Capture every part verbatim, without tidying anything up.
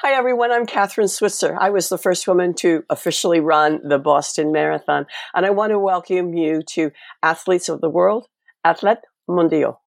Hi, everyone. I'm Kathrine Switzer. I was the first woman to officially run the Boston Marathon, and I want to welcome you to Athletes of the World, Athlètes Mondiaux.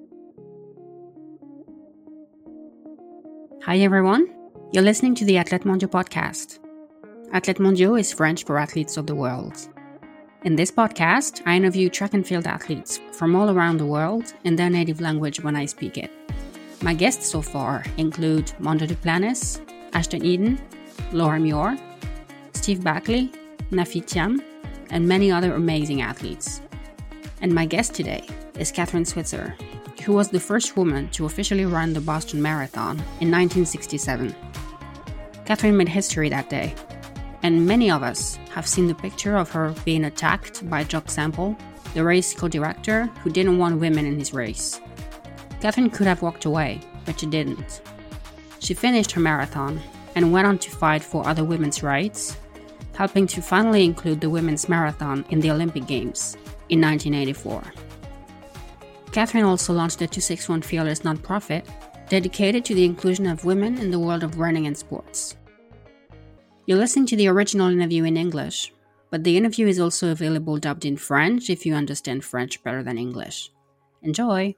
Hi, everyone. You're listening to the Athlètes Mondiaux podcast. Athlètes Mondiaux is French for Athletes of the World. In this podcast, I interview track and field athletes from all around the world in their native language when I speak it. My guests so far include Mondo Duplantis, Ashton Eden, Laura Muir, Steve Backley, Nafi Thiam, and many other amazing athletes. And my guest today is Kathrine Switzer, who was the first woman to officially run the Boston Marathon in nineteen sixty-seven. Kathrine made history that day, and many of us have seen the picture of her being attacked by Jock Sample, the race co-director who didn't want women in his race. Kathrine could have walked away, but she didn't. She finished her marathon and went on to fight for other women's rights, helping to finally include the women's marathon in the Olympic Games in nineteen eighty-four. Kathrine also launched the two sixty-one Fearless nonprofit dedicated to the inclusion of women in the world of running and sports. You're listening to the original interview in English, but the interview is also available dubbed in French if you understand French better than English. Enjoy!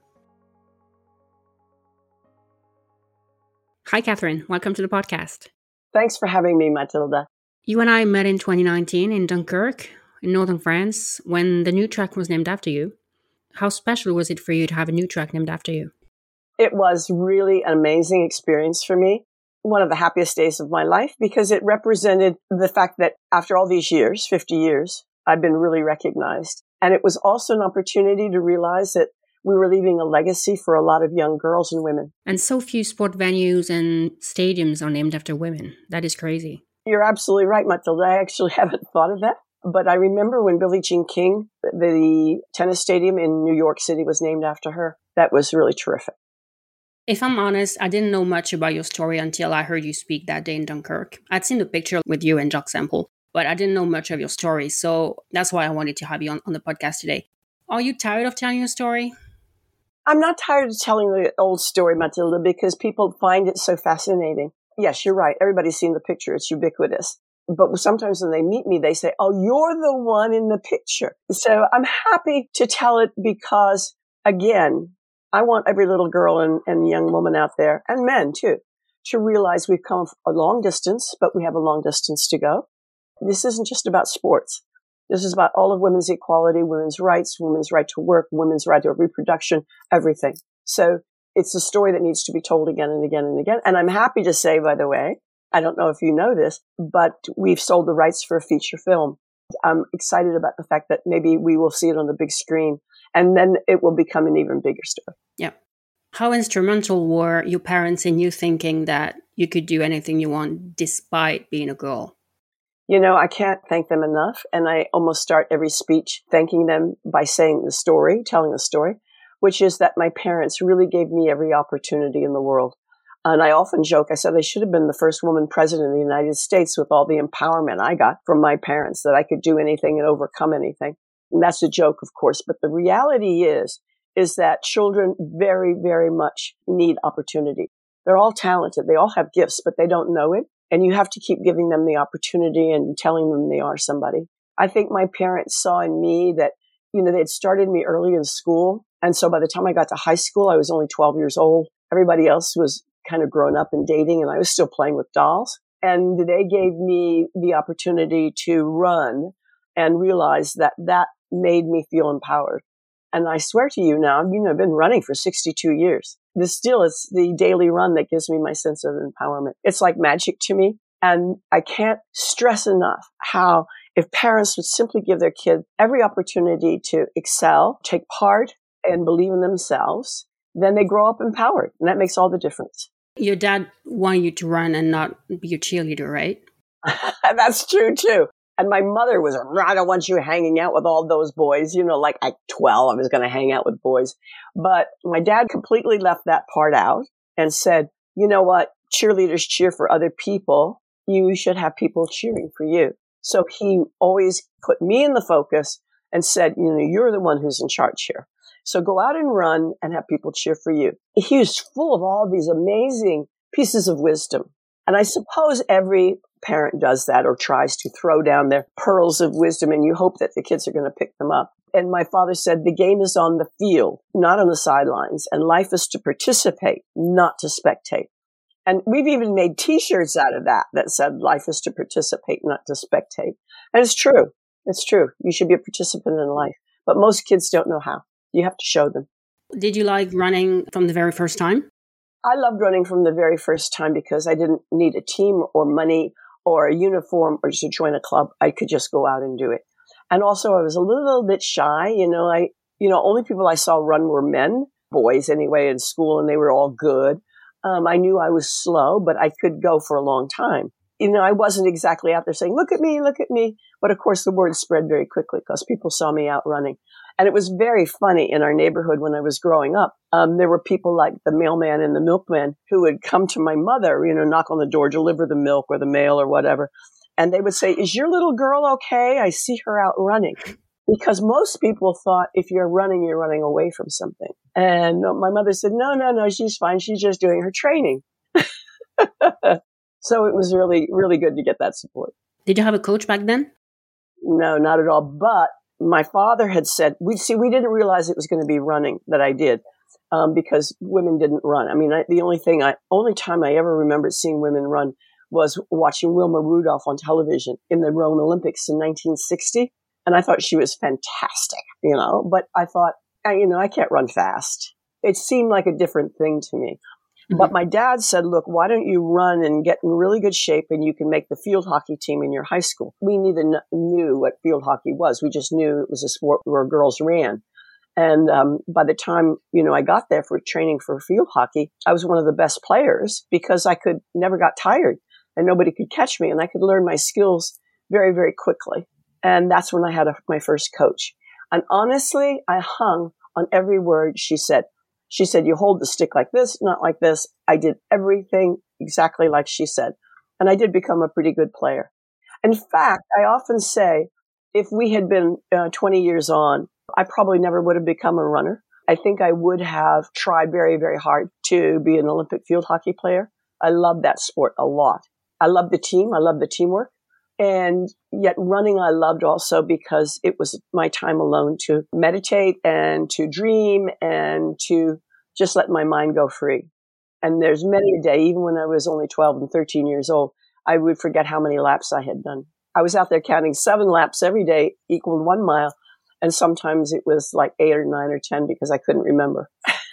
Hi, Kathrine. Welcome to the podcast. Thanks for having me, Matilda. You and I met in twenty nineteen in Dunkirk, in northern France, when the new track was named after you. How special was it for you to have a new track named after you? It was really an amazing experience for me. One of the happiest days of my life because it represented the fact that after all these years, fifty years, I've been really recognized. And it was also an opportunity to realize that we were leaving a legacy for a lot of young girls and women. And so few sport venues and stadiums are named after women. That is crazy. You're absolutely right, Matilda. I actually haven't thought of that. But I remember when Billie Jean King, the tennis stadium in New York City, was named after her. That was really terrific. If I'm honest, I didn't know much about your story until I heard you speak that day in Dunkirk. I'd seen the picture with you and Jock Sample, but I didn't know much of your story. So that's why I wanted to have you on, on the podcast today. Are you tired of telling your story? I'm not tired of telling the old story, Matilda, because people find it so fascinating. Yes, you're right. Everybody's seen the picture. It's ubiquitous. But sometimes when they meet me, they say, oh, you're the one in the picture. So I'm happy to tell it because, again, I want every little girl and, and young woman out there, and men too, to realize we've come a long distance, but we have a long distance to go. This isn't just about sports. This is about all of women's equality, women's rights, women's right to work, women's right to reproduction, everything. So it's a story that needs to be told again and again and again. And I'm happy to say, by the way, I don't know if you know this, but we've sold the rights for a feature film. I'm excited about the fact that maybe we will see it on the big screen, and then it will become an even bigger story. Yeah. How instrumental were your parents in you thinking that you could do anything you want despite being a girl? You know, I can't thank them enough. And I almost start every speech thanking them by saying the story, telling the story, which is that my parents really gave me every opportunity in the world. And I often joke, I said I should have been the first woman president of the United States with all the empowerment I got from my parents, that I could do anything and overcome anything. And that's a joke, of course. But the reality is, is that children very, very much need opportunity. They're all talented. They all have gifts, but they don't know it. And you have to keep giving them the opportunity and telling them they are somebody. I think my parents saw in me that, you know, they had started me early in school. And so by the time I got to high school, I was only twelve years old. Everybody else was kind of grown up and dating, and I was still playing with dolls. And they gave me the opportunity to run and realize that that made me feel empowered. And I swear to you now, you know, I've been running for sixty-two years. This still is the daily run that gives me my sense of empowerment. It's like magic to me. And I can't stress enough how if parents would simply give their kid every opportunity to excel, take part, and believe in themselves, then they grow up empowered. And that makes all the difference. Your dad wanted you to run and not be a cheerleader, right? That's true, too. And my mother was, I don't want you hanging out with all those boys. You know, like at twelve, I was going to hang out with boys. But my dad completely left that part out and said, you know what? Cheerleaders cheer for other people. You should have people cheering for you. So he always put me in the focus and said, you know, you're the one who's in charge here. So go out and run and have people cheer for you. He was full of all these amazing pieces of wisdom. And I suppose every parent does that or tries to throw down their pearls of wisdom, and you hope that the kids are going to pick them up. And my father said, the game is on the field, not on the sidelines, and life is to participate, not to spectate. And we've even made T-shirts out of that that said, life is to participate, not to spectate. And it's true. It's true. You should be a participant in life. But most kids don't know how. You have to show them. Did you like running from the very first time? I loved running from the very first time because I didn't need a team or money or a uniform or to join a club. I could just go out and do it. And also I was a little bit shy. You know, I, you know, only people I saw run were men, boys anyway, in school, and they were all good. Um, I knew I was slow, but I could go for a long time. You know, I wasn't exactly out there saying, look at me, look at me. But of course, the word spread very quickly because people saw me out running. And it was very funny in our neighborhood when I was growing up. Um, there were people like the mailman and the milkman who would come to my mother, you know, knock on the door, deliver the milk or the mail or whatever. And they would say, is your little girl okay? I see her out running. Because most people thought if you're running, you're running away from something. And my mother said, no, no, no, she's fine. She's just doing her training. So it was really, really good to get that support. Did you have a coach back then? No, not at all. But my father had said, we see, we didn't realize it was going to be running that I did um, because women didn't run. I mean, I, the only thing I, only time I ever remembered seeing women run was watching Wilma Rudolph on television in the Rome Olympics in nineteen sixty. And I thought she was fantastic, you know, but I thought, I, you know, I can't run fast. It seemed like a different thing to me. Mm-hmm. But my dad said, look, why don't you run and get in really good shape and you can make the field hockey team in your high school? We neither kn- knew what field hockey was. We just knew it was a sport where girls ran. And um, by the time, you know, I got there for training for field hockey, I was one of the best players because I could never got tired and nobody could catch me and I could learn my skills very, very quickly. And that's when I had a, my first coach. And honestly, I hung on every word she said. She said, you hold the stick like this, not like this. I did everything exactly like she said. And I did become a pretty good player. In fact, I often say, if we had been uh, twenty years on, I probably never would have become a runner. I think I would have tried very, very hard to be an Olympic field hockey player. I love that sport a lot. I love the team. I love the teamwork. And yet running I loved also because it was my time alone to meditate and to dream and to just let my mind go free. And there's many a day, even when I was only twelve and thirteen years old, I would forget how many laps I had done. I was out there counting seven laps every day equaled one mile. And sometimes it was like eight or nine or ten because I couldn't remember.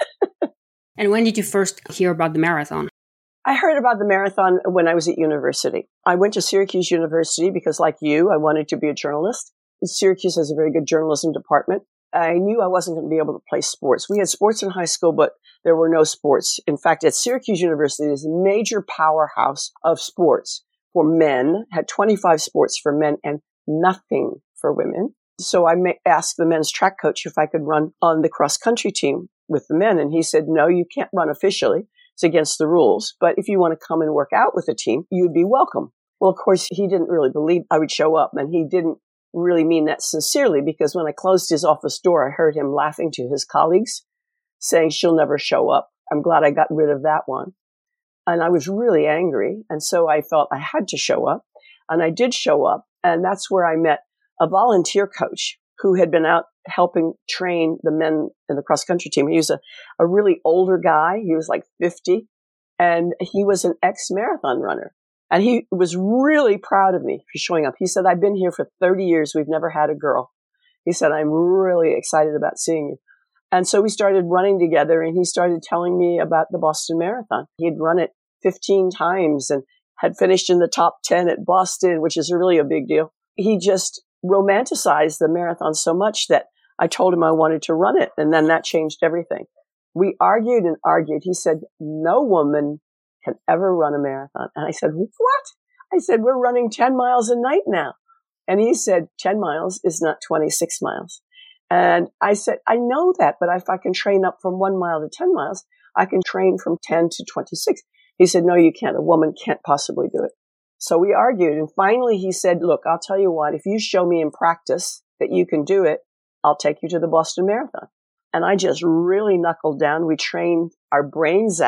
And when did you first hear about the marathon? I heard about the marathon when I was at university. I went to Syracuse University because, like you, I wanted to be a journalist. Syracuse has a very good journalism department. I knew I wasn't going to be able to play sports. We had sports in high school, but there were no sports. In fact, at Syracuse University, this major powerhouse of sports for men, had twenty-five sports for men and nothing for women. So I asked the men's track coach if I could run on the cross-country team with the men. And he said, no, you can't run officially. It's against the rules. But if you want to come and work out with the team, you'd be welcome. Well, of course, he didn't really believe I would show up. And he didn't really mean that sincerely because when I closed his office door, I heard him laughing to his colleagues, saying she'll never show up. I'm glad I got rid of that one. And I was really angry. And so I felt I had to show up. And I did show up. And that's where I met a volunteer coach who had been out helping train the men in the cross-country team. He was a, a really older guy. He was like fifty. And he was an ex-marathon runner. And he was really proud of me for showing up. He said, I've been here for thirty years. We've never had a girl. He said, I'm really excited about seeing you. And so we started running together and he started telling me about the Boston Marathon. He'd run it fifteen times and had finished in the top ten at Boston, which is really a big deal. He just romanticized the marathon so much that I told him I wanted to run it. And then that changed everything. We argued and argued. He said, no woman can ever run a marathon. And I said, what? I said, we're running ten miles a night now. And he said, ten miles is not twenty-six miles. And I said, I know that, but if I can train up from one mile to ten miles, I can train from ten to twenty-six. He said, no, you can't. A woman can't possibly do it. So we argued. And finally he said, look, I'll tell you what, if you show me in practice that you can do it, I'll take you to the Boston Marathon. And I just really knuckled down. We trained our brains out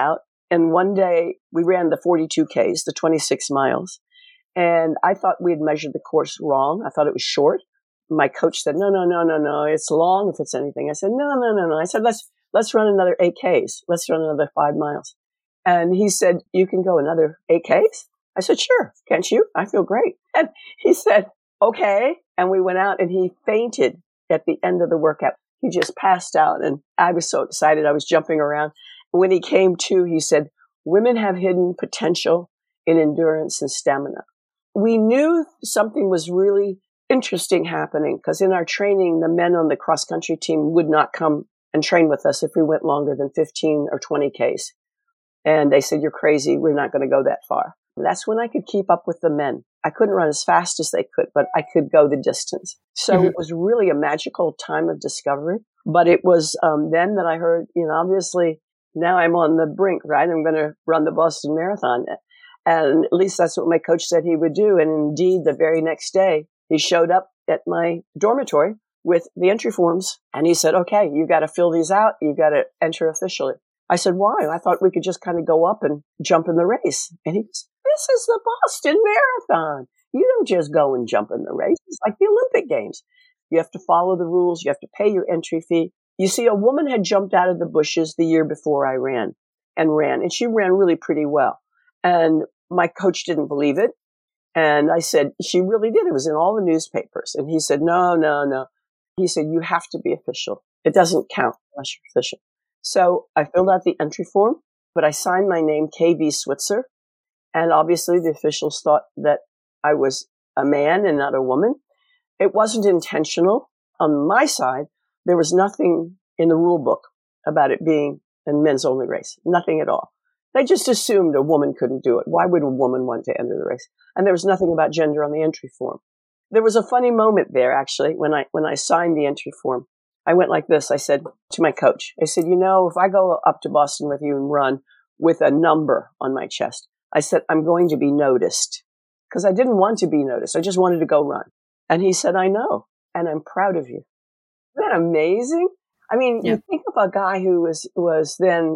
And one day we ran the forty-two Ks, the twenty-six miles. And I thought we had measured the course wrong. I thought it was short. My coach said, no, no, no, no, no. It's long if it's anything. I said, no, no, no, no. I said, let's, let's run another eight Ks. Let's run another five miles. And he said, you can go another eight Ks? I said, sure. Can't you? I feel great. And he said, okay. And we went out and he fainted at the end of the workout. He just passed out. And I was so excited. I was jumping around. When he came to, he said, women have hidden potential in endurance and stamina. We knew something was really interesting happening because in our training, the men on the cross country team would not come and train with us if we went longer than fifteen or twenty Ks. And they said, you're crazy. We're not going to go that far. And that's when I could keep up with the men. I couldn't run as fast as they could, but I could go the distance. So mm-hmm. It was really a magical time of discovery. But it was um, then that I heard, you know, obviously now I'm on the brink, right? I'm going to run the Boston Marathon. And at least that's what my coach said he would do. And indeed, the very next day, he showed up at my dormitory with the entry forms. And he said, okay, you got to fill these out. You got to enter officially. I said, why? I thought we could just kind of go up and jump in the race. And he goes, this is the Boston Marathon. You don't just go and jump in the race. It's like the Olympic Games. You have to follow the rules. You have to pay your entry fee. You see, a woman had jumped out of the bushes the year before I ran and ran. And she ran really pretty well. And my coach didn't believe it. And I said, she really did. It was in all the newspapers. And he said, no, no, no. He said, you have to be official. It doesn't count unless you're official. So I filled out the entry form, but I signed my name K V Switzer. And obviously the officials thought that I was a man and not a woman. It wasn't intentional. On my side, there was nothing in the rule book about it being a men's only race. Nothing at all. They just assumed a woman couldn't do it. Why would a woman want to enter the race? And there was nothing about gender on the entry form. There was a funny moment there, actually, when I, when I signed the entry form. I went like this. I said to my coach, I said, you know, if I go up to Boston with you and run with a number on my chest, I said, I'm going to be noticed because I didn't want to be noticed. I just wanted to go run. And he said, I know. And I'm proud of you. Isn't that amazing? I mean, yeah. You think of a guy who was, was then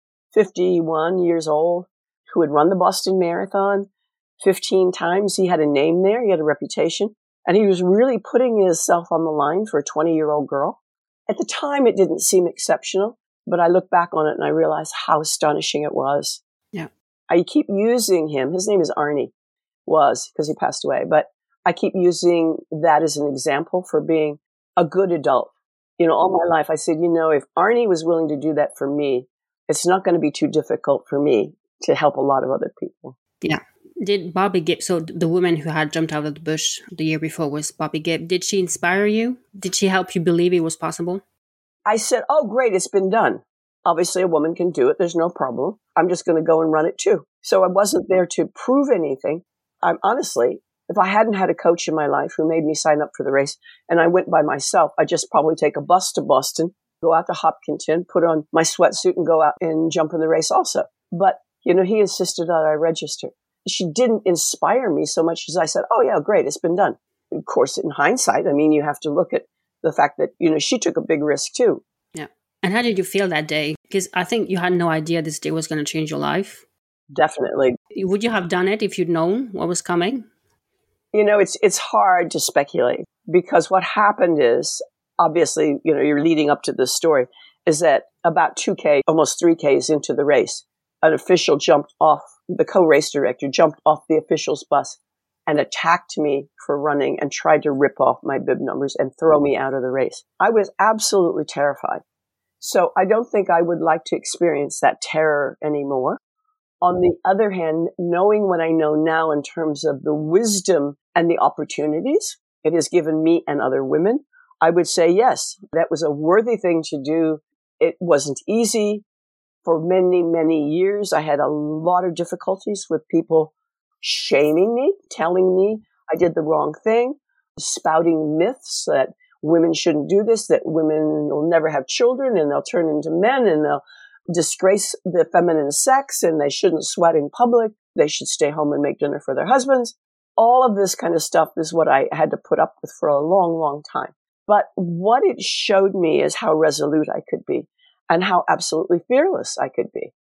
fifty-one years old, who had run the Boston Marathon fifteen times. He had a name there. He had a reputation. And he was really putting himself on the line for a twenty-year-old girl. At the time, it didn't seem exceptional, but I look back on it and I realize how astonishing it was. Yeah. I keep using him. His name is Arnie, was, because he passed away. But I keep using that as an example for being a good adult. You know, all my life, I said, you know, if Arnie was willing to do that for me, it's not going to be too difficult for me to help a lot of other people. Yeah. Did Bobby Gibb, so the woman who had jumped out of the bush the year before was Bobby Gibb, did she inspire you? Did she help you believe it was possible? I said, oh, great, it's been done. Obviously, a woman can do it. There's no problem. I'm just going to go and run it too. So I wasn't there to prove anything. I'm honestly, if I hadn't had a coach in my life who made me sign up for the race and I went by myself, I'd just probably take a bus to Boston, go out to Hopkinton, put on my sweatsuit and go out and jump in the race also. But, you know, he insisted that I register. She didn't inspire me so much as I said, oh, yeah, great, it's been done. Of course, in hindsight, I mean, you have to look at the fact that, you know, she took a big risk too. Yeah. And how did you feel that day? Because I think you had no idea this day was going to change your life. Definitely. Would you have done it if you'd known what was coming? You know, it's it's hard to speculate because what happened is, obviously, you know, you're leading up to this story, is that about two K, almost three Ks into the race, an official jumped off, the co-race director jumped off the official's bus and attacked me for running and tried to rip off my bib numbers and throw me out of the race. I was absolutely terrified. So I don't think I would like to experience that terror anymore. On the other hand, knowing what I know now in terms of the wisdom and the opportunities it has given me and other women, I would say, yes, that was a worthy thing to do. It wasn't easy. For many, many years, I had a lot of difficulties with people shaming me, telling me I did the wrong thing, spouting myths that women shouldn't do this, that women will never have children and they'll turn into men and they'll disgrace the feminine sex and they shouldn't sweat in public. They should stay home and make dinner for their husbands. All of this kind of stuff is what I had to put up with for a long, long time. But what it showed me is how resolute I could be and how absolutely fearless I could be.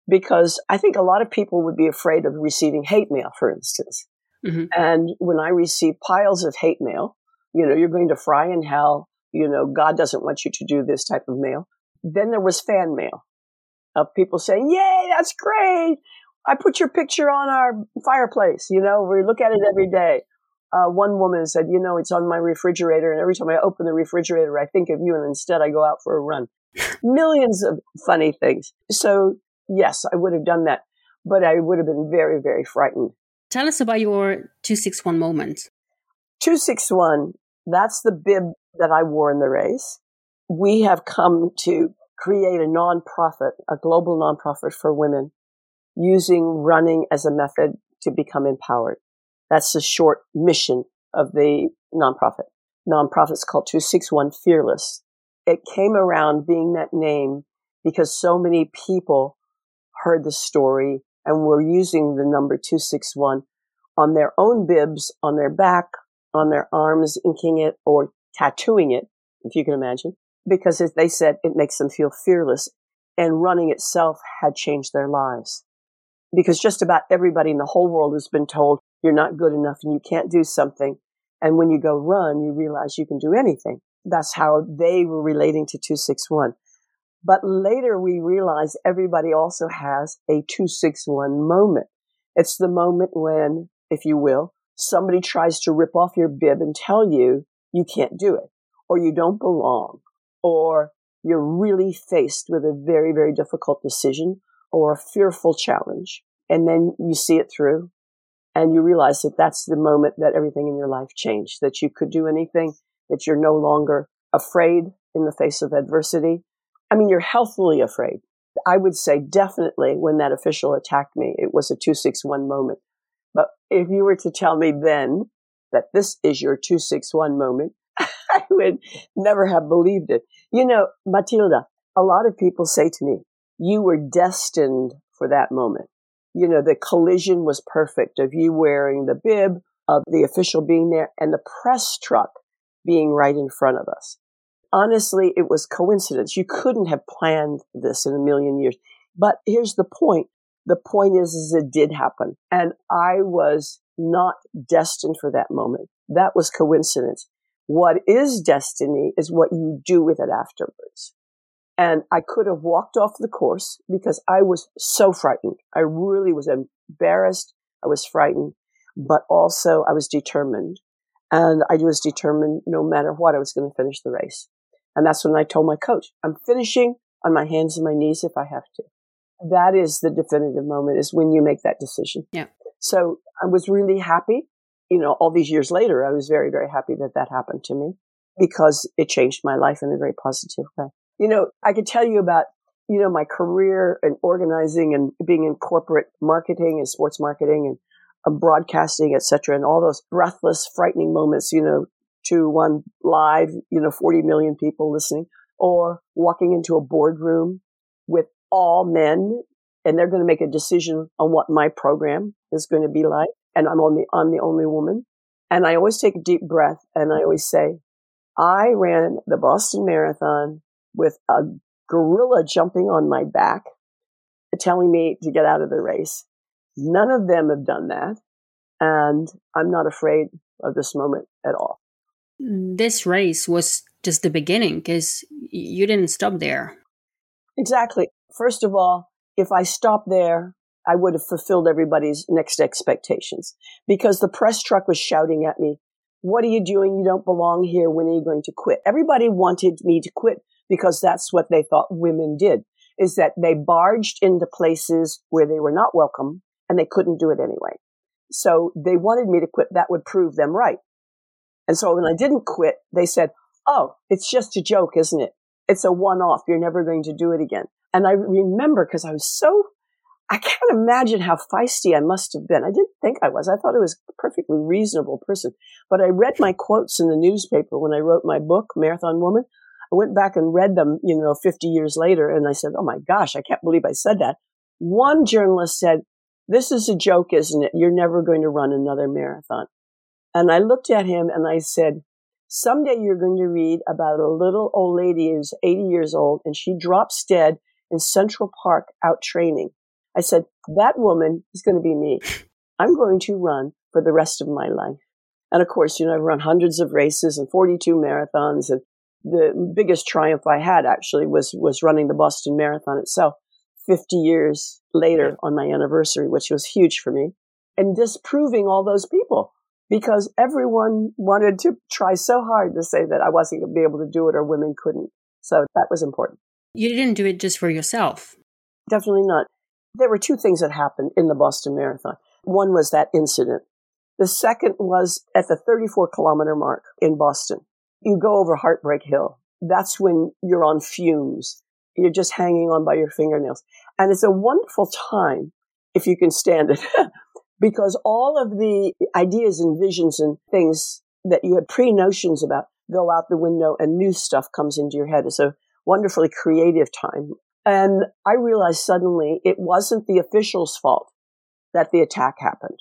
because I think a lot of people would be afraid of receiving hate mail, for instance. Mm-hmm. And when I receive piles of hate mail, you know, you're going to fry in hell, you know, God doesn't want you to do this type of mail. Then there was fan mail of people saying, yay, that's great. I put your picture on our fireplace. You know, we look at it every day. Uh, one woman said, you know, it's on my refrigerator. And every time I open the refrigerator, I think of you. And instead I go out for a run. Millions of funny things. So yes, I would have done that, but I would have been very, very frightened. Tell us about your two six one moment. two six one, that's the bib that I wore in the race. We have come to create a nonprofit, a global nonprofit for women, using running as a method to become empowered. That's the short mission of the nonprofit. Nonprofit's called two six one Fearless. It came around being that name because so many people heard the story and were using the number two six one on their own bibs, on their back, on their arms, inking it or tattooing it, if you can imagine, because as they said, it makes them feel fearless. And running itself had changed their lives. Because just about everybody in the whole world has been told you're not good enough and you can't do something. And when you go run, you realize you can do anything. That's how they were relating to two six one. But later we realized everybody also has a two six one moment. It's the moment when, if you will, somebody tries to rip off your bib and tell you you can't do it, or you don't belong, or you're really faced with a very, very difficult decision or a fearful challenge. And then you see it through and you realize that that's the moment that everything in your life changed, that you could do anything, that you're no longer afraid in the face of adversity. I mean, you're healthily afraid. I would say definitely when that official attacked me, it was a two six one moment. But if you were to tell me then that this is your two six one moment, I would never have believed it. You know, Matilda, a lot of people say to me, you were destined for that moment. You know, the collision was perfect of you wearing the bib, of the official being there, and the press truck being right in front of us. Honestly, it was coincidence. You couldn't have planned this in a million years. But here's the point. The point is, is it did happen. And I was not destined for that moment. That was coincidence. What is destiny is what you do with it afterwards. And I could have walked off the course because I was so frightened. I really was embarrassed. I was frightened, but also I was determined. And I was determined no matter what, I was going to finish the race. And that's when I told my coach, I'm finishing on my hands and my knees if I have to. That is the definitive moment, is when you make that decision. Yeah. So I was really happy. You know, all these years later, I was very, very happy that that happened to me because it changed my life in a very positive way. You know, I could tell you about, you know, my career and organizing and being in corporate marketing and sports marketing and um, broadcasting, et cetera, and all those breathless, frightening moments, you know, to one live, you know, forty million people listening, or walking into a boardroom with all men and they're going to make a decision on what my program is going to be like. And I'm only, I'm the only woman. And I always take a deep breath and I always say, I ran the Boston Marathon with a gorilla jumping on my back, telling me to get out of the race. None of them have done that. And I'm not afraid of this moment at all. This race was just the beginning because you didn't stop there. Exactly. First of all, if I stopped there, I would have fulfilled everybody's next expectations because the press truck was shouting at me, what are you doing? You don't belong here. When are you going to quit? Everybody wanted me to quit because that's what they thought women did, is that they barged into places where they were not welcome and they couldn't do it anyway. So they wanted me to quit. That would prove them right. And so when I didn't quit, they said, oh, it's just a joke, isn't it? It's a one-off. You're never going to do it again. And I remember because I was so, I can't imagine how feisty I must have been. I didn't think I was. I thought I was a perfectly reasonable person. But I read my quotes in the newspaper when I wrote my book, Marathon Woman. I went back and read them, you know, fifty years later. And I said, oh my gosh, I can't believe I said that. One journalist said, this is a joke, isn't it? You're never going to run another marathon. And I looked at him and I said, someday you're going to read about a little old lady who's eighty years old and she drops dead in Central Park out training. I said, that woman is going to be me. I'm going to run for the rest of my life. And of course, you know, I've run hundreds of races and forty-two marathons. And the biggest triumph I had actually was, was running the Boston Marathon itself fifty years later on my anniversary, which was huge for me. And disproving all those people because everyone wanted to try so hard to say that I wasn't going to be able to do it or women couldn't. So that was important. You didn't do it just for yourself. Definitely not. There were two things that happened in the Boston Marathon. One was that incident. The second was at the thirty-four kilometer mark in Boston. You go over Heartbreak Hill. That's when you're on fumes. You're just hanging on by your fingernails. And it's a wonderful time, if you can stand it, because all of the ideas and visions and things that you had pre-notions about go out the window and new stuff comes into your head. It's a wonderfully creative time. And I realized suddenly it wasn't the official's fault that the attack happened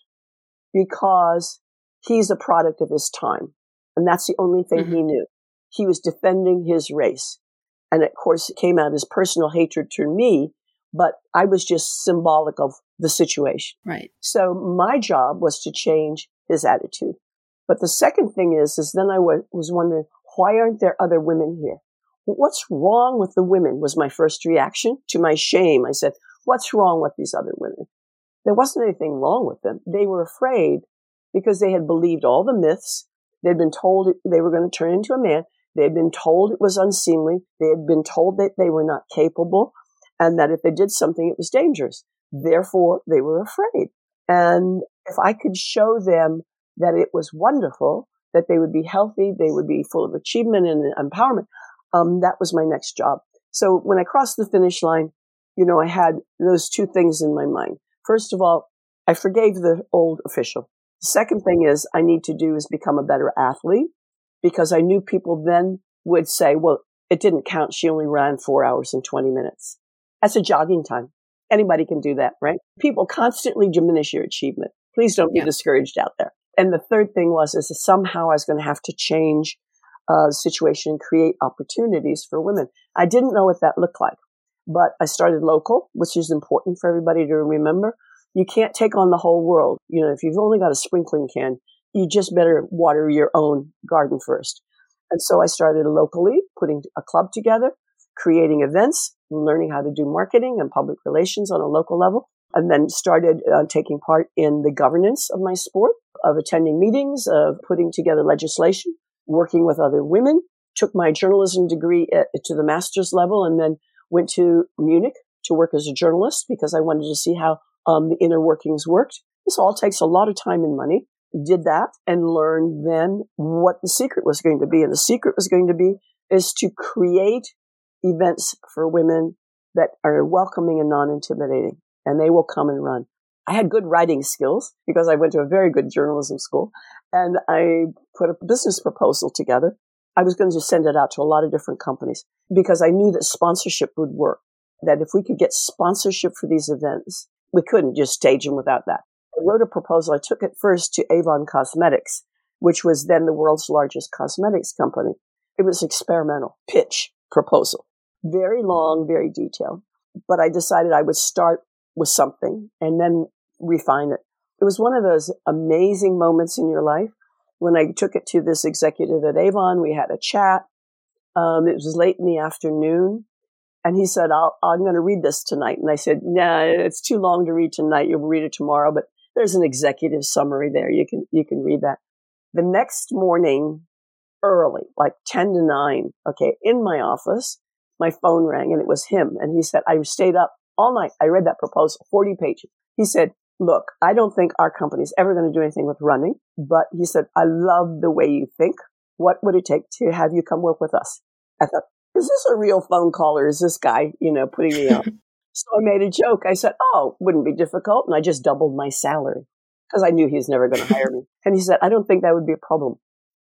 because he's a product of his time. And that's the only thing mm-hmm. he knew. He was defending his race. And of course, it came out as personal hatred to me, but I was just symbolic of the situation. Right. So my job was to change his attitude. But the second thing is, is then I w- was wondering, why aren't there other women here? What's wrong with the women was my first reaction. To my shame, I said, what's wrong with these other women? There wasn't anything wrong with them. They were afraid because they had believed all the myths. They'd been told they were going to turn into a man. They had been told it was unseemly. They had been told that they were not capable and that if they did something, it was dangerous. Therefore, they were afraid. And if I could show them that it was wonderful, that they would be healthy, they would be full of achievement and empowerment, um, that was my next job. So when I crossed the finish line, you know, I had those two things in my mind. First of all, I forgave the old official. The second thing is I need to do is become a better athlete because I knew people then would say, well, it didn't count. She only ran four hours and twenty minutes. That's a jogging time. Anybody can do that, right? People constantly diminish your achievement. Please don't be yeah. discouraged out there. And the third thing was, is that somehow I was going to have to change uh, the situation and create opportunities for women. I didn't know what that looked like, but I started local, which is important for everybody to remember. You can't take on the whole world. You know, if you've only got a sprinkling can, you just better water your own garden first. And so I started locally, putting a club together, creating events, learning how to do marketing and public relations on a local level, and then started uh, taking part in the governance of my sport, of attending meetings, of putting together legislation, working with other women, took my journalism degree at, to the master's level, and then went to Munich to work as a journalist because I wanted to see how um, the inner workings worked. This all takes a lot of time and money. Did that and learned then what the secret was going to be. And the secret was going to be is to create events for women that are welcoming and non-intimidating, and they will come and run. I had good writing skills because I went to a very good journalism school, and I put a business proposal together. I was going to send it out to a lot of different companies because I knew that sponsorship would work, that if we could get sponsorship for these events, we couldn't just stage them without that. I wrote a proposal. I took it first to Avon Cosmetics, which was then the world's largest cosmetics company. It was experimental pitch proposal. Very long, very detailed. But I decided I would start with something and then refine it. It was one of those amazing moments in your life when I took it to this executive at Avon. We had a chat. Um, it was late in the afternoon. And he said, I'll, I'm going to read this tonight. And I said, nah, it's too long to read tonight. You'll read it tomorrow. But there's an executive summary there. You can, you can read that. The next morning, early, like ten to nine, okay, in my office, my phone rang and it was him. And he said, I stayed up all night. I read that proposal, forty pages. He said, look, I don't think our company's ever going to do anything with running. But he said, I love the way you think. What would it take to have you come work with us? I thought, is this a real phone call or is this guy, you know, putting me up? So I made a joke. I said, oh, wouldn't be difficult. And I just doubled my salary because I knew he was never going to hire me. And he said, I don't think that would be a problem.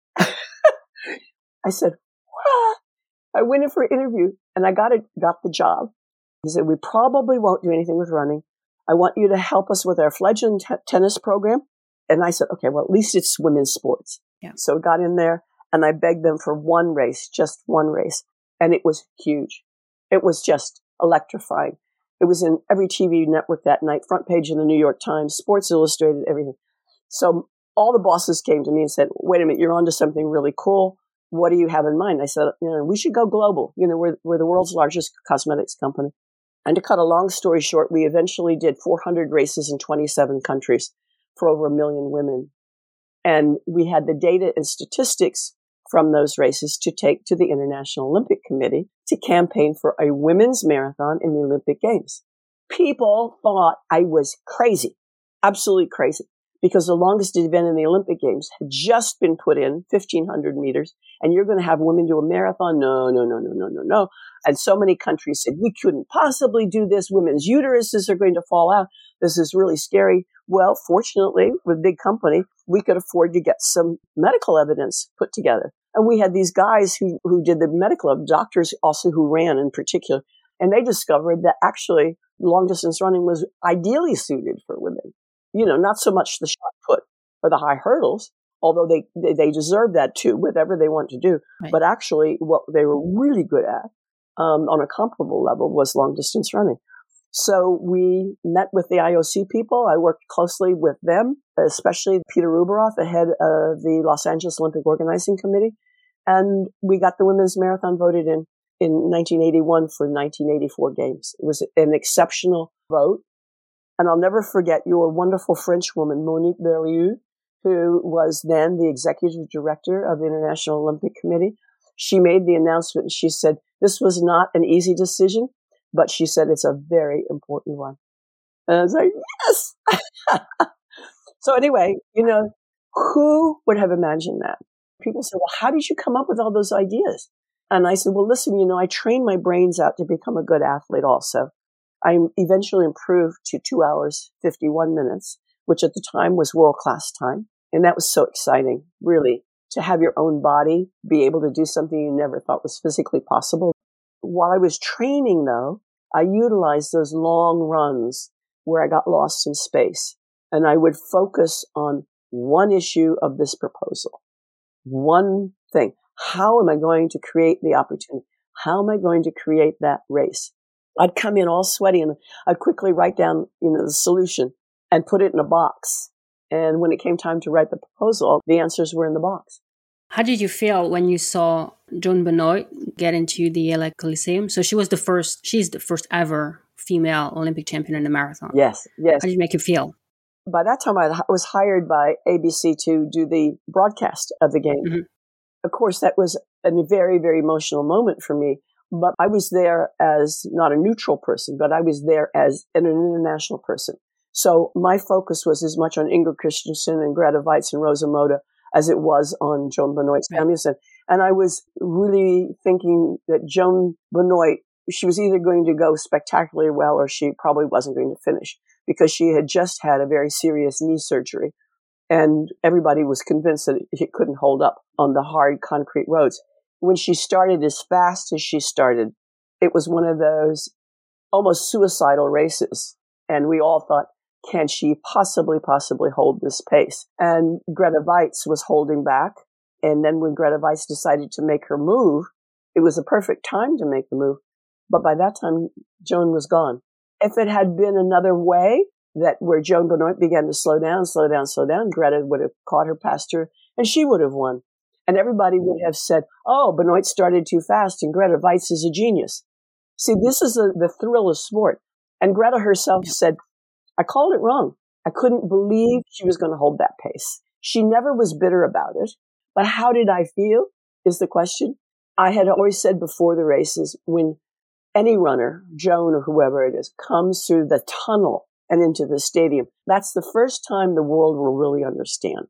I said, what? I went in for an interview and I got it, got the job. He said, we probably won't do anything with running. I want you to help us with our fledgling t- tennis program. And I said, okay, well, at least it's women's sports. Yeah. So I got in there and I begged them for one race, just one race. And it was huge. It was just electrifying. It was in every T V network that night, front page of the New York Times, Sports Illustrated, everything. So all the bosses came to me and said, wait a minute, you're onto something really cool. What do you have in mind? I said, you know, we should go global. You know, we're, we're the world's largest cosmetics company. And to cut a long story short, we eventually did four hundred races in twenty-seven countries for over a million women. And we had the data and statistics from those races to take to the International Olympic Committee to campaign for a women's marathon in the Olympic Games. People thought I was crazy, absolutely crazy, because the longest event in the Olympic Games had just been put in, fifteen hundred meters, and you're going to have women do a marathon? No, no, no, no, no, no, no. And so many countries said, we couldn't possibly do this. Women's uteruses are going to fall out. This is really scary. Well, fortunately, with a big company, we could afford to get some medical evidence put together. And we had these guys who, who did the medical, doctors also who ran in particular, and they discovered that actually long distance running was ideally suited for women. You know, not so much the shot put or the high hurdles, although they, they, they deserve that too, whatever they want to do. Right. But actually what they were really good at, um, on a comparable level, was long distance running. So we met with the I O C people. I worked closely with them, especially Peter Ueberroth, the head of the Los Angeles Olympic Organizing Committee. And we got the women's marathon voted in in nineteen eighty-one for the nineteen eighty-four games. It was an exceptional vote. And I'll never forget your wonderful French woman, Monique Berliou, who was then the executive director of the International Olympic Committee. She made the announcement and she said, this was not an easy decision, but she said it's a very important one. And I was like, yes! So anyway, you know, who would have imagined that? People say, well, how did you come up with all those ideas? And I said, well, listen, you know, I trained my brains out to become a good athlete also. I eventually improved to two hours, fifty-one minutes, which at the time was world-class time. And that was so exciting, really, to have your own body be able to do something you never thought was physically possible. While I was training, though, I utilized those long runs where I got lost in space. And I would focus on one issue of this proposal, one thing. How am I going to create the opportunity? How am I going to create that race? I'd come in all sweaty and I'd quickly write down, you know, the solution and put it in a box. And when it came time to write the proposal, the answers were in the box. How did you feel when you saw Joan Benoit get into the L A Coliseum? So she was the first, she's the first ever female Olympic champion in the marathon. Yes, yes. How did it make you feel? By that time, I was hired by A B C to do the broadcast of the game. Mm-hmm. Of course, that was a very, very emotional moment for me. But I was there as not a neutral person, but I was there as an international person. So my focus was as much on Ingrid Christensen and Grete Waitz and Rosa Moda as it was on Joan Benoit Samuelson. And I was really thinking that Joan Benoit, she was either going to go spectacularly well or she probably wasn't going to finish because she had just had a very serious knee surgery. And everybody was convinced that it couldn't hold up on the hard concrete roads. When she started as fast as she started, it was one of those almost suicidal races. And we all thought, can she possibly, possibly hold this pace? And Grete Waitz was holding back. And then when Grete Waitz decided to make her move, it was a perfect time to make the move. But by that time, Joan was gone. If it had been another way, that where Joan Benoit began to slow down, slow down, slow down, Grete would have caught her past her, and she would have won. And everybody would have said, oh, Benoit started too fast, and Grete Waitz is a genius. See, this is a, the thrill of sport. And Grete herself yeah. said, I called it wrong. I couldn't believe she was going to hold that pace. She never was bitter about it. But how did I feel is the question. I had always said before the races, when any runner, Joan or whoever it is, comes through the tunnel and into the stadium, that's the first time the world will really understand.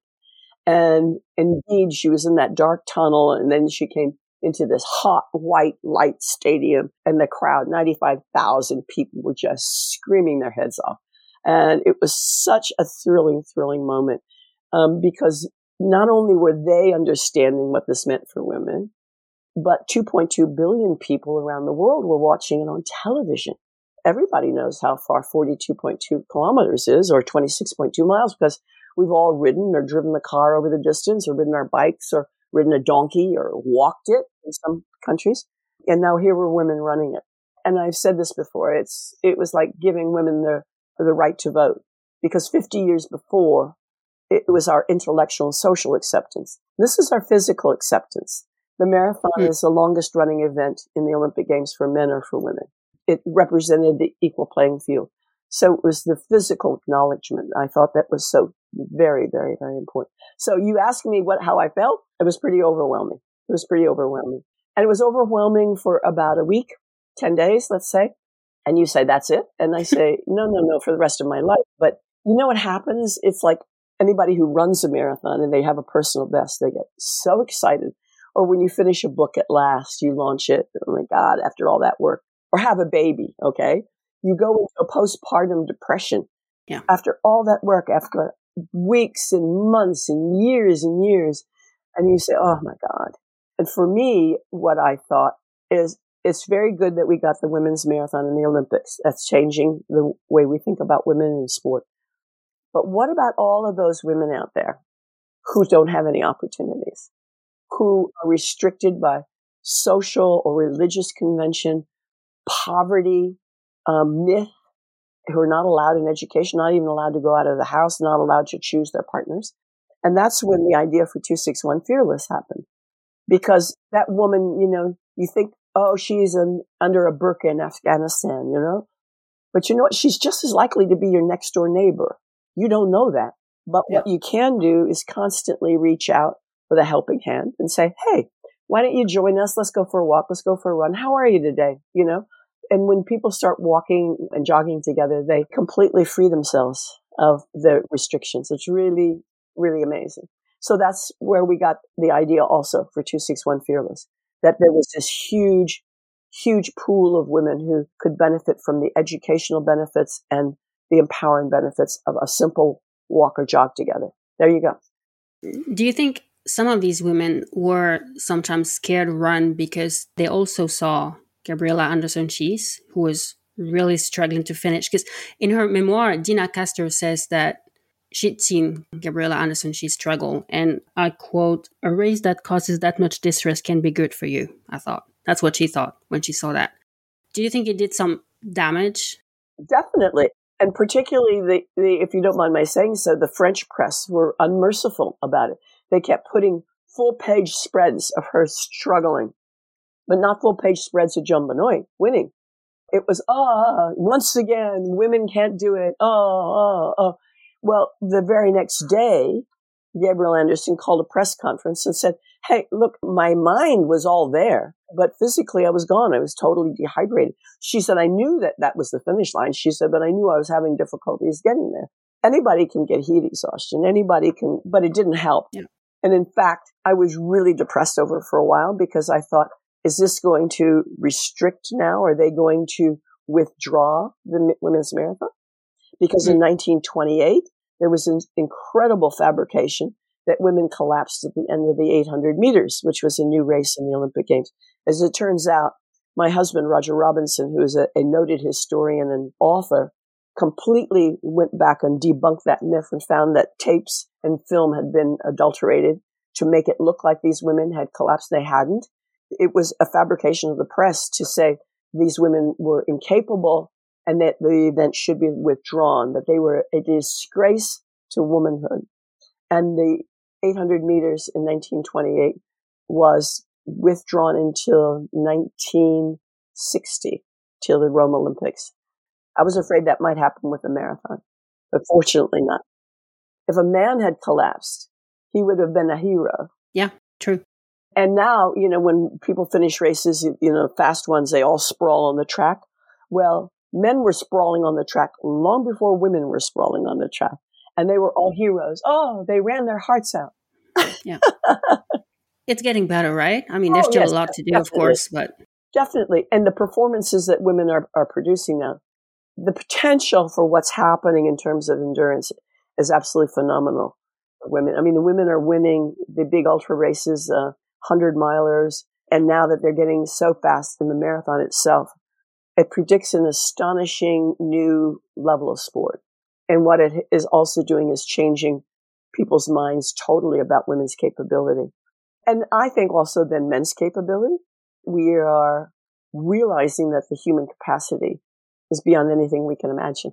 And indeed, she was in that dark tunnel, and then she came into this hot, white light stadium, and the crowd, ninety-five thousand people, were just screaming their heads off. And it was such a thrilling, thrilling moment, um, because not only were they understanding what this meant for women, but two point two billion people around the world were watching it on television. Everybody knows how far forty-two point two kilometers is, or twenty-six point two miles, because we've all ridden or driven the car over the distance, or ridden our bikes, or ridden a donkey, or walked it in some countries. And now here were women running it. And I've said this before, it's it was like giving women the, the right to vote. Because fifty years before, it was our intellectual and social acceptance. This is our physical acceptance. The marathon mm. is the longest running event in the Olympic Games for men or for women. It represented the equal playing field. So it was the physical acknowledgement. I thought that was so very, very, very important. So you asked me what how I felt. It was pretty overwhelming. It was pretty overwhelming. And it was overwhelming for about a week, ten days, let's say. And you say, that's it? And I say, no, no, no, for the rest of my life. But you know what happens? It's like anybody who runs a marathon and they have a personal best, they get so excited. Or when you finish a book at last, you launch it. Oh my God, after all that work. Or have a baby, okay? You go into a postpartum depression. Yeah. After all that work, after weeks and months and years and years. And you say, oh my God. And for me, what I thought is it's very good that we got the women's marathon in the Olympics. That's changing the way we think about women in sport. But what about all of those women out there who don't have any opportunities, who are restricted by social or religious convention, poverty, um, myth, who are not allowed in education, not even allowed to go out of the house, not allowed to choose their partners? And that's when the idea for two sixty-one Fearless happened. Because that woman, you know, you think, oh, she's an, under a burqa in Afghanistan, you know? But you know what? She's just as likely to be your next door neighbor. You don't know that. But yeah. What you can do is constantly reach out with a helping hand and say, hey, why don't you join us? Let's go for a walk. Let's go for a run. How are you today? You know? And when people start walking and jogging together, they completely free themselves of the restrictions. It's really, really amazing. So that's where we got the idea also for two sixty-one Fearless, that there was this huge, huge pool of women who could benefit from the educational benefits and the empowering benefits of a simple walk or jog together. There you go. Do you think some of these women were sometimes scared to run because they also saw Gabriela Anderson-Schiess, who was really struggling to finish? Because in her memoir, Dina Castor says that she'd seen Gabriela Anderson-Schiess struggle. And I quote, a race that causes that much distress can be good for you, I thought. That's what she thought when she saw that. Do you think it did some damage? Definitely. And particularly, the, the if you don't mind my saying so, the French press were unmerciful about it. They kept putting full-page spreads of her struggling, but not full-page spreads of Joan Benoit winning. It was, ah, once again, women can't do it. Oh, oh, oh. Well, the very next day, Gabrielle Anderson called a press conference and said, hey, look, my mind was all there, but physically I was gone. I was totally dehydrated. She said, I knew that that was the finish line. She said, but I knew I was having difficulties getting there. Anybody can get heat exhaustion. Anybody can, but it didn't help. Yeah. And in fact, I was really depressed over it for a while because I thought, is this going to restrict now? Are they going to withdraw the women's marathon? Because mm-hmm. in nineteen twenty-eight, there was an incredible fabrication that women collapsed at the end of the eight hundred meters, which was a new race in the Olympic Games. As it turns out, my husband, Roger Robinson, who is a, a noted historian and author, completely went back and debunked that myth and found that tapes and film had been adulterated to make it look like these women had collapsed. They hadn't. It was a fabrication of the press to say these women were incapable and that the event should be withdrawn, that they were a disgrace to womanhood. And the eight hundred meters in nineteen twenty-eight was withdrawn until nineteen sixty, till the Rome Olympics. I was afraid that might happen with the marathon, but fortunately not. If a man had collapsed, he would have been a hero. Yeah, true. And now, you know, when people finish races, you know, fast ones, they all sprawl on the track. Well, men were sprawling on the track long before women were sprawling on the track. And they were all heroes. Oh, they ran their hearts out. Yeah. It's getting better, right? I mean, there's oh, still yes, a lot to do, definitely. Of course, but... Definitely. And the performances that women are, are producing now, the potential for what's happening in terms of endurance is absolutely phenomenal for women. I mean, the women are winning the big ultra races, uh, hundred milers, and now that they're getting so fast in the marathon itself, it predicts an astonishing new level of sport. And what it is also doing is changing people's minds totally about women's capability. And I think also then men's capability. We are realizing that the human capacity is beyond anything we can imagine.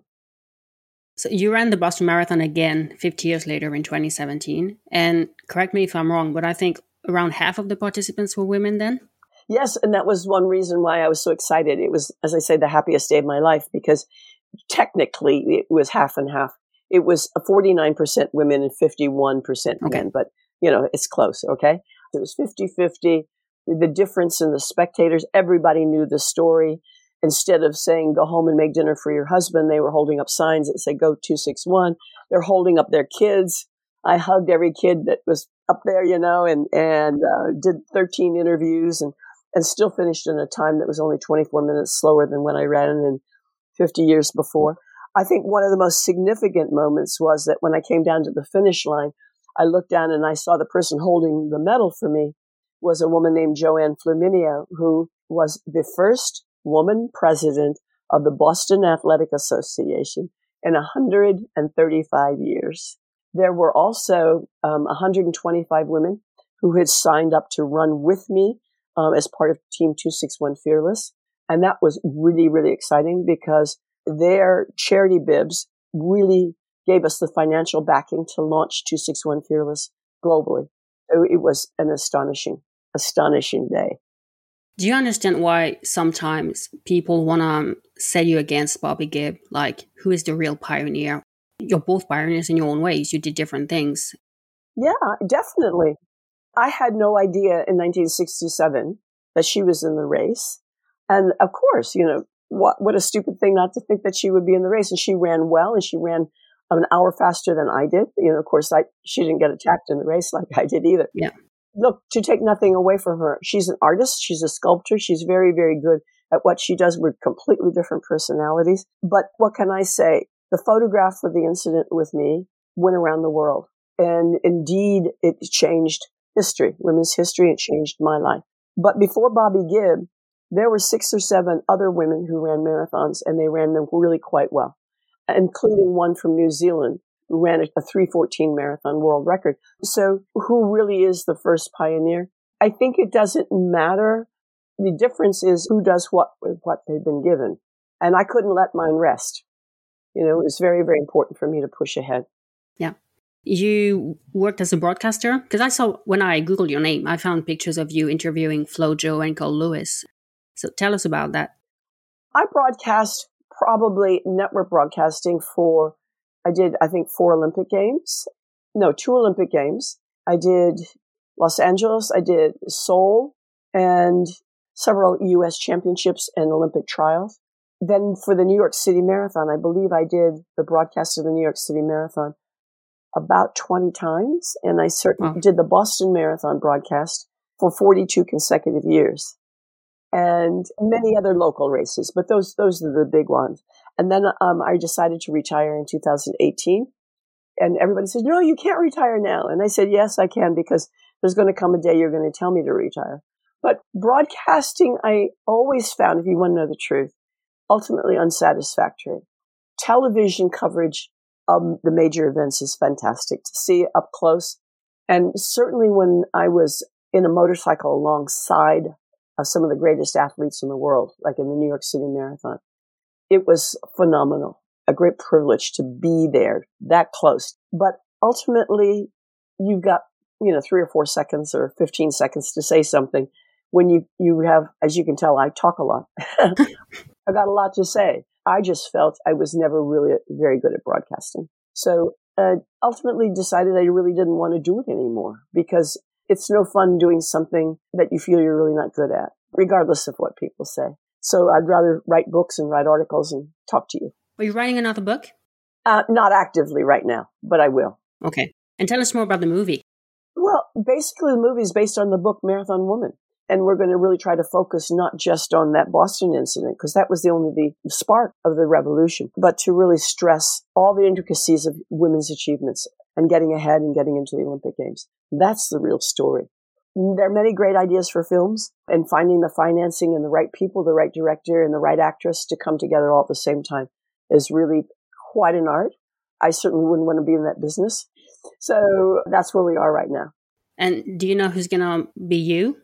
So you ran the Boston Marathon again fifty years later in twenty seventeen. And correct me if I'm wrong, but I think around half of the participants were women then? Yes, and that was one reason why I was so excited. It was, as I say, the happiest day of my life because technically it was half and half. It was forty-nine percent women and fifty-one percent Okay. men, but, you know, it's close, okay? It was fifty-fifty. The difference in the spectators, everybody knew the story. Instead of saying, go home and make dinner for your husband, they were holding up signs that said, go two six one. They're holding up their kids. I hugged every kid that was up there, you know, and, and uh, did thirteen interviews and, and still finished in a time that was only twenty-four minutes slower than when I ran in fifty years before. I think one of the most significant moments was that when I came down to the finish line, I looked down and I saw the person holding the medal for me was a woman named Joanne Flaminio, who was the first woman president of the Boston Athletic Association in one hundred thirty-five years. There were also um, one hundred twenty-five women who had signed up to run with me um, as part of Team two sixty-one Fearless. And that was really, really exciting because their charity bibs really gave us the financial backing to launch two sixty-one Fearless globally. So it was an astonishing, astonishing day. Do you understand why sometimes people want to set you against Bobby Gibb? Like, who is the real pioneer? You're both pioneers in your own ways. You did different things. Yeah, definitely. I had no idea in nineteen sixty-seven that she was in the race. And of course, you know, what what a stupid thing not to think that she would be in the race. And she ran well, and she ran an hour faster than I did. You know, of course, I she didn't get attacked in the race like I did either. Yeah. Look, to take nothing away from her, she's an artist, she's a sculptor, she's very, very good at what she does. We're completely different personalities. But what can I say? The photograph of the incident with me went around the world. And indeed, it changed history, women's history. It changed my life. But before Bobby Gibb, there were six or seven other women who ran marathons, and they ran them really quite well, including one from New Zealand who ran a three fourteen marathon world record. So who really is the first pioneer? I think it doesn't matter. The difference is who does what with what they've been given. And I couldn't let mine rest. You know, it was very, very important for me to push ahead. Yeah. You worked as a broadcaster? Because I saw, when I Googled your name, I found pictures of you interviewing Flo Jo and Carl Lewis. So tell us about that. I broadcast probably network broadcasting for, I did, I think, four Olympic Games. No, two Olympic Games. I did Los Angeles, I did Seoul, and several U S championships and Olympic trials. Then for the New York City Marathon, I believe I did the broadcast of the New York City Marathon about twenty times. And I certainly Wow. did the Boston Marathon broadcast for forty-two consecutive years. And many other local races, but those those are the big ones. And then um, I decided to retire in two thousand eighteen. And everybody said, no, you can't retire now. And I said, yes, I can, because there's going to come a day you're going to tell me to retire. But broadcasting, I always found, if you want to know the truth, ultimately unsatisfactory. Television coverage of the major events is fantastic to see it up close. And certainly when I was in a motorcycle alongside of some of the greatest athletes in the world, like in the New York City Marathon, it was phenomenal. A great privilege to be there that close. But ultimately, you've got, you know, three or four seconds or fifteen seconds to say something. When you, you have, as you can tell, I talk a lot. I got a lot to say. I just felt I was never really very good at broadcasting. So uh, ultimately decided I really didn't want to do it anymore, because it's no fun doing something that you feel you're really not good at, regardless of what people say. So I'd rather write books and write articles and talk to you. Are you writing another book? Uh, not actively right now, but I will. Okay. And tell us more about the movie. Well, basically the movie is based on the book Marathon Woman. And we're going to really try to focus not just on that Boston incident, because that was the only the spark of the revolution, but to really stress all the intricacies of women's achievements and getting ahead and getting into the Olympic Games. That's the real story. There are many great ideas for films, and finding the financing and the right people, the right director and the right actress to come together all at the same time is really quite an art. I certainly wouldn't want to be in that business. So that's where we are right now. And do you know who's going to be you?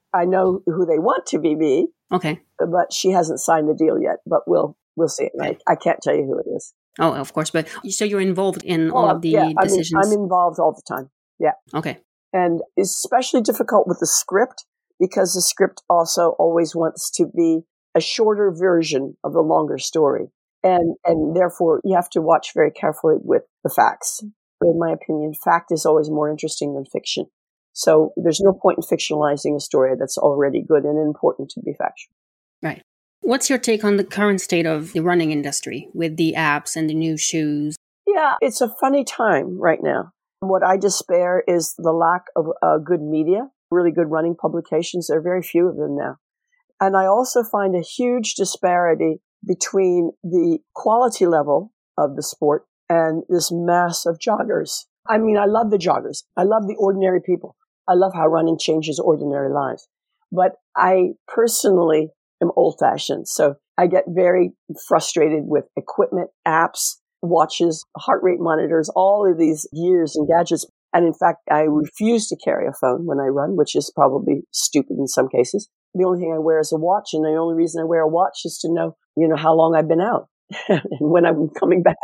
I know who they want to be me. Okay. But she hasn't signed the deal yet. But we'll we'll see. Okay. I, I can't tell you who it is. Oh, of course. But so you're involved in well, all of the yeah, decisions? I mean, I'm involved all the time. Yeah. Okay. And it's especially difficult with the script because the script also always wants to be a shorter version of the longer story. And and therefore, you have to watch very carefully with the facts. In my opinion, fact is always more interesting than fiction. So there's no point in fictionalizing a story that's already good and important to be factual. Right. What's your take on the current state of the running industry with the apps and the new shoes? Yeah, it's a funny time right now. What I despair is the lack of uh, good media, really good running publications. There are very few of them now. And I also find a huge disparity between the quality level of the sport and this mass of joggers. I mean, I love the joggers. I love the ordinary people. I love how running changes ordinary lives. But I personally am old-fashioned. So I get very frustrated with equipment, apps, watches, heart rate monitors, all of these gears and gadgets. And in fact, I refuse to carry a phone when I run, which is probably stupid in some cases. The only thing I wear is a watch, and the only reason I wear a watch is to know, you know, how long I've been out and when I'm coming back.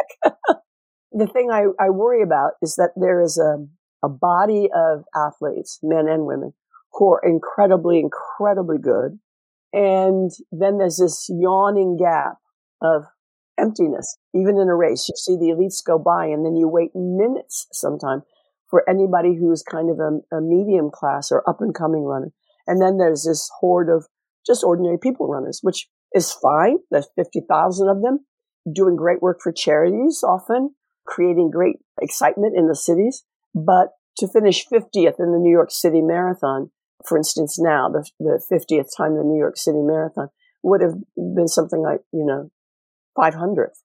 The thing I, I worry about is that there is a, a body of athletes, men and women, who are incredibly, incredibly good. And then there's this yawning gap of emptiness. Even in a race, you see the elites go by, and then you wait minutes sometime for anybody who's kind of a, a medium class or up and coming runner. And then there's this horde of just ordinary people runners, which is fine. There's fifty thousand of them doing great work for charities, often creating great excitement in the cities. But to finish fiftieth in the New York City Marathon, for instance, now the, the fiftieth time the New York City Marathon would have been something like, you know, five hundredth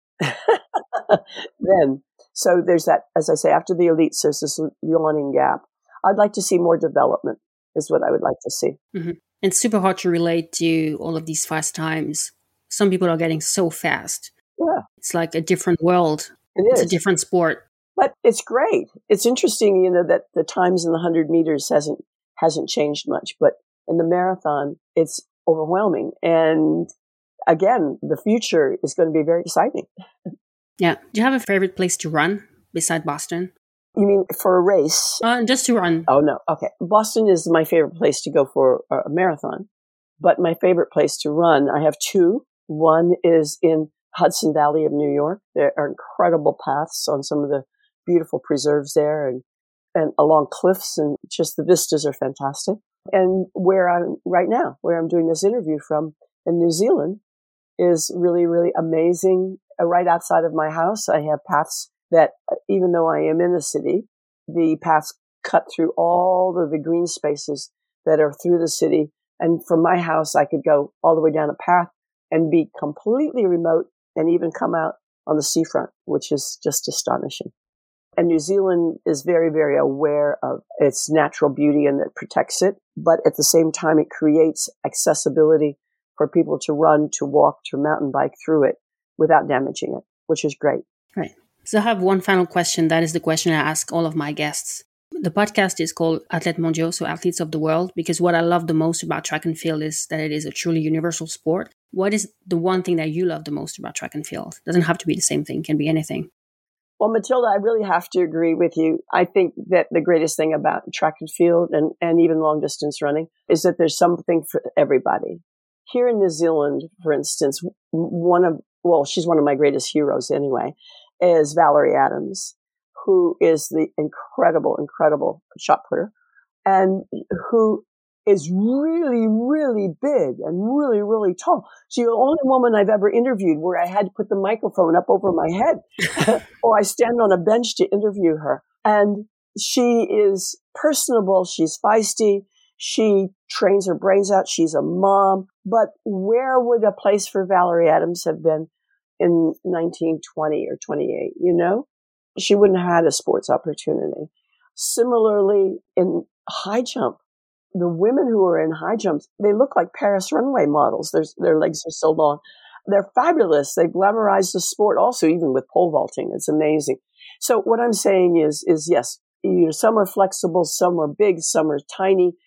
then. So there's that, as I say, after the elites, there's this yawning gap. I'd like to see more development is what I would like to see. Mm-hmm. It's super hard to relate to all of these fast times. Some people are getting so fast. Yeah. It's like a different world. It it's is. a different sport. But it's great. It's interesting, you know, that the times in the one hundred meters hasn't hasn't changed much. But in the marathon, it's overwhelming. And again, the future is going to be very exciting. Yeah. Do you have a favorite place to run beside Boston? You mean for a race? Uh, just to run. Oh, no. Okay. Boston is my favorite place to go for a marathon. But my favorite place to run, I have two. One is in Hudson Valley of New York. There are incredible paths on some of the beautiful preserves there and, and along cliffs, and just the vistas are fantastic. And where I'm right now, where I'm doing this interview from in New Zealand, is really, really amazing. Uh, right outside of my house, I have paths that, uh, even though I am in the city, the paths cut through all of the green spaces that are through the city. And from my house, I could go all the way down a path and be completely remote and even come out on the seafront, which is just astonishing. And New Zealand is very, very aware of its natural beauty and that protects it. But at the same time, it creates accessibility for people to run, to walk, to mountain bike through it without damaging it, which is great. Right. So I have one final question. That is the question I ask all of my guests. The podcast is called Athlètes Mondiaux, so Athletes of the World, because what I love the most about track and field is that it is a truly universal sport. What is the one thing that you love the most about track and field? It doesn't have to be the same thing. It can be anything. Well, Matilda, I really have to agree with you. I think that the greatest thing about track and field and, and even long distance running is that there's something for everybody. Here in New Zealand, for instance, one of, well, she's one of my greatest heroes anyway, is Valerie Adams, who is the incredible, incredible shot putter and who is really, really big and really, really tall. She's the only woman I've ever interviewed where I had to put the microphone up over my head or I stand on a bench to interview her. And she is personable. She's feisty. She trains her brains out. She's a mom. But where would a place for Valerie Adams have been in nineteen twenty or twenty-eight, you know? She wouldn't have had a sports opportunity. Similarly, in high jump, the women who are in high jumps, they look like Paris runway models. Their, their legs are so long. They're fabulous. They glamorize the sport also, even with pole vaulting. It's amazing. So what I'm saying is, is yes, you know, some are flexible, some are big, some are tiny.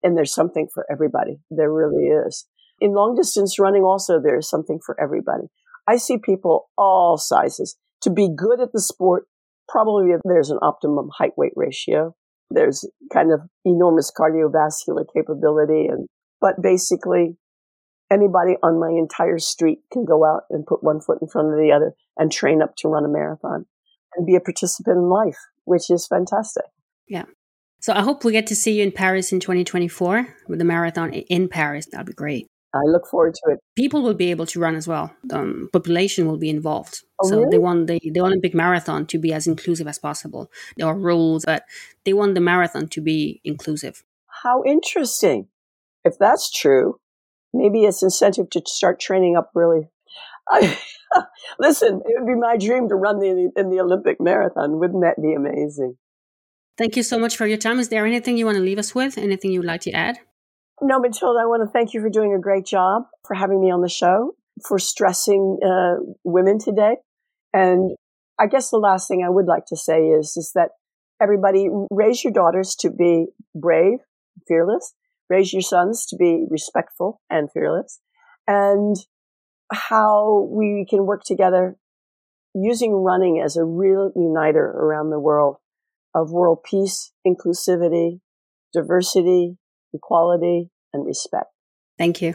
And there's something for everybody. There really is. In long distance running also, there's something for everybody. I see people all sizes. To be good at the sport, probably there's an optimum height-weight ratio. There's kind of enormous cardiovascular capability. And but basically, anybody on my entire street can go out and put one foot in front of the other and train up to run a marathon and be a participant in life, which is fantastic. Yeah. So I hope we get to see you in Paris in twenty twenty-four with the marathon in Paris. That'd be great. I look forward to it. People will be able to run as well. The um, population will be involved. Oh, so really? they want the, the Olympic marathon to be as inclusive as possible. There are rules, but they want the marathon to be inclusive. How interesting. If that's true, maybe it's incentive to start training up really. I, listen, it would be my dream to run the, in the Olympic marathon. Wouldn't that be amazing? Thank you so much for your time. Is there anything you want to leave us with? Anything you'd like to add? No, Matilda, I want to thank you for doing a great job, for having me on the show, for stressing uh, women today. And I guess the last thing I would like to say is, is that everybody raise your daughters to be brave, fearless. Raise your sons to be respectful and fearless. And how we can work together using running as a real uniter around the world of world peace, inclusivity, diversity, equality, and respect. Thank you.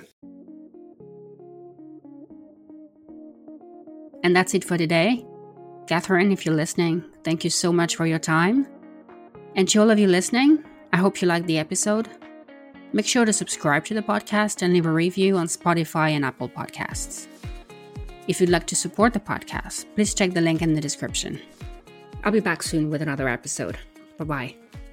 And that's it for today. Catherine, if you're listening, thank you so much for your time. And to all of you listening, I hope you liked the episode. Make sure to subscribe to the podcast and leave a review on Spotify and Apple Podcasts. If you'd like to support the podcast, please check the link in the description. I'll be back soon with another episode. Bye-bye.